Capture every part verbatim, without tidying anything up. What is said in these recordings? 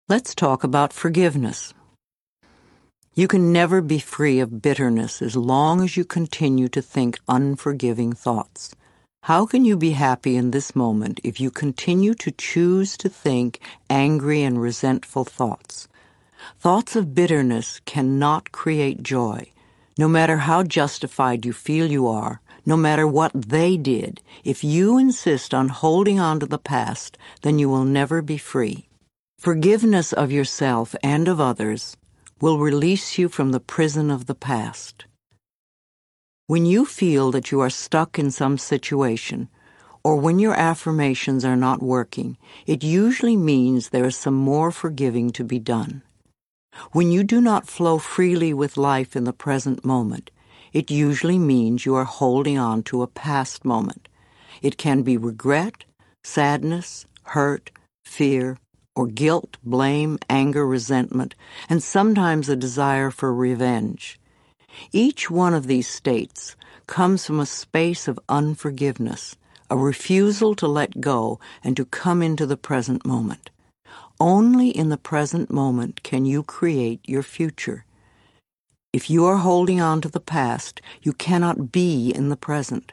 Let's talk about forgiveness. You can never be free of bitterness as long as you continue to think unforgiving thoughts. How can you be happy in this moment if you continue to choose to think angry and resentful thoughts? Thoughts of bitterness cannot create joy. No matter how justified you feel you are, no matter what they did, if you insist on holding on to the past, then you will never be free. Forgiveness of yourself and of others will release you from the prison of the past. When you feel that you are stuck in some situation, or when your affirmations are not working, it usually means there is some more forgiving to be done. When you do not flow freely with life in the present moment, it usually means you are holding on to a past moment. It can be regret, sadness, hurt, fear, or guilt, blame, anger, resentment, and sometimes a desire for revenge. Each one of these states comes from a space of unforgiveness, a refusal to let go and to come into the present moment. Only in the present moment can you create your future. If you are holding on to the past, you cannot be in the present.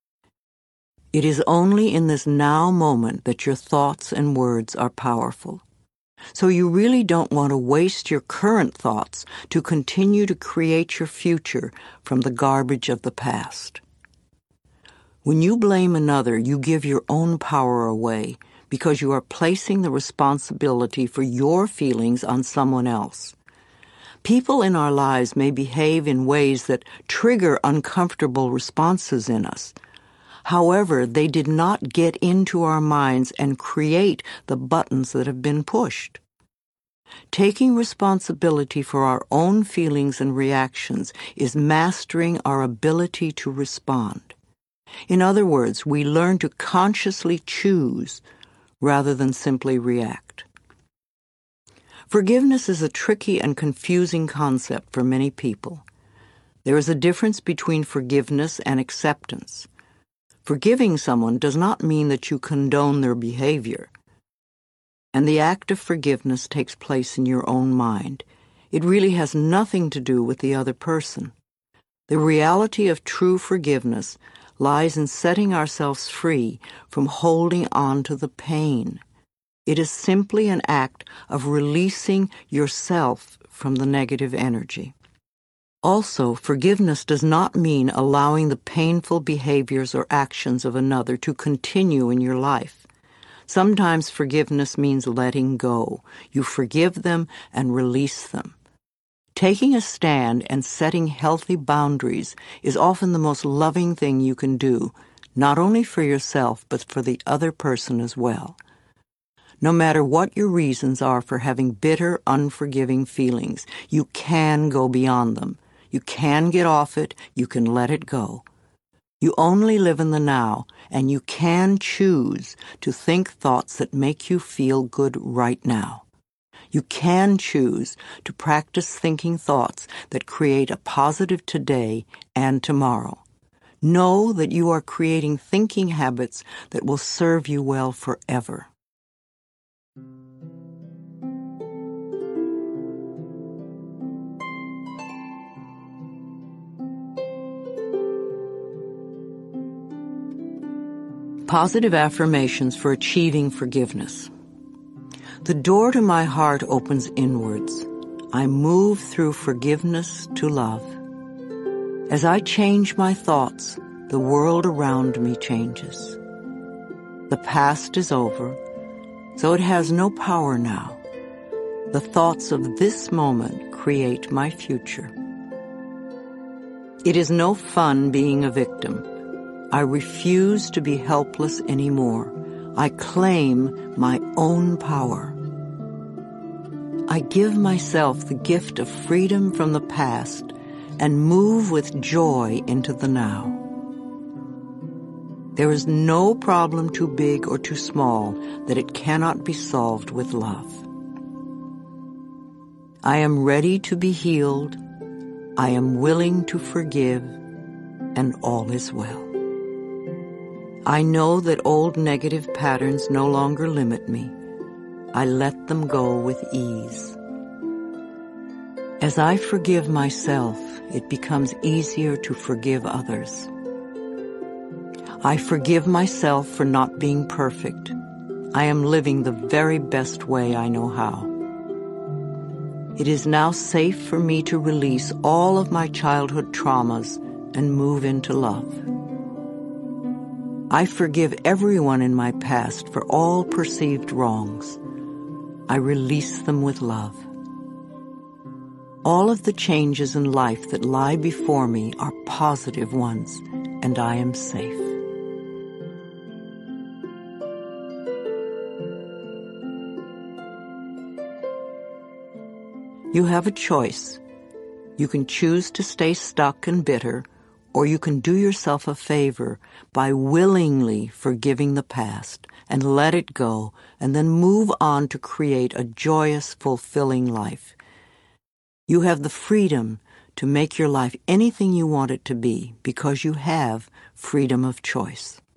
It is only in this now moment that your thoughts and words are powerful. So you really don't want to waste your current thoughts to continue to create your future from the garbage of the past. When you blame another, you give your own power away because you are placing the responsibility for your feelings on someone else. People in our lives may behave in ways that trigger uncomfortable responses in us. However, they did not get into our minds and create the buttons that have been pushed. Taking responsibility for our own feelings and reactions is mastering our ability to respond. In other words, we learn to consciously choose rather than simply react. Forgiveness is a tricky and confusing concept for many people. There is a difference between forgiveness and acceptance. Forgiving someone does not mean that you condone their behavior. And the act of forgiveness takes place in your own mind. It really has nothing to do with the other person. The reality of true forgiveness lies in setting ourselves free from holding on to the pain. It is simply an act of releasing yourself from the negative energy. Also, forgiveness does not mean allowing the painful behaviors or actions of another to continue in your life. Sometimes forgiveness means letting go. You forgive them and release them. Taking a stand and setting healthy boundaries is often the most loving thing you can do, not only for yourself, but for the other person as well. No matter what your reasons are for having bitter, unforgiving feelings, you can go beyond them. You can get off it, you can let it go. You only live in the now, and you can choose to think thoughts that make you feel good right now. You can choose to practice thinking thoughts that create a positive today and tomorrow. Know that you are creating thinking habits that will serve you well forever. Positive affirmations for achieving forgiveness. The door to my heart opens inwards. I move through forgiveness to love. As I change my thoughts, the world around me changes. The past is over, so it has no power now. The thoughts of this moment create my future. It is no fun being a victim. I refuse to be helpless anymore. I claim my own power. I give myself the gift of freedom from the past and move with joy into the now. There is no problem too big or too small that it cannot be solved with love. I am ready to be healed. I am willing to forgive, and all is well. I know that old negative patterns no longer limit me. I let them go with ease. As I forgive myself, it becomes easier to forgive others. I forgive myself for not being perfect. I am living the very best way I know how. It is now safe for me to release all of my childhood traumas and move into love. I forgive everyone in my past for all perceived wrongs. I release them with love. All of the changes in life that lie before me are positive ones, and I am safe. You have a choice. You can choose to stay stuck and bitter, or you can do yourself a favor by willingly forgiving the past and let it go, and then move on to create a joyous, fulfilling life. You have the freedom to make your life anything you want it to be because you have freedom of choice.